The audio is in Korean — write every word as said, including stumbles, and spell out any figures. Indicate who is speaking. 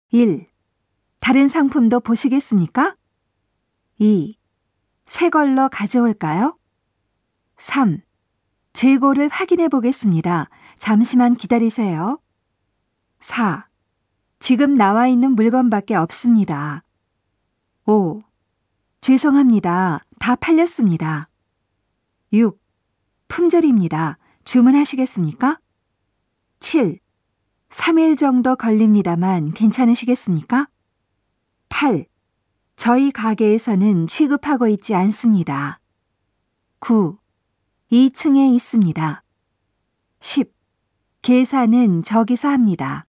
Speaker 1: 일. 다른 상품도 보시겠습니까? 이. 새 걸로 가져올까요? 삼. 재고를 확인해 보겠습니다. 잠시만 기다리세요. 사. 지금 나와 있는 물건밖에 없습니다. 오. 죄송합니다. 다 팔렸습니다. 육. 품절입니다. 주문하시겠습니까? 칠. 삼 일 정도 걸립니다만 괜찮으시겠습니까? 팔. 저희 가게에서는 취급하고 있지 않습니다. 구. 이 층에 있습니다. 십. 계산은 저기서 합니다.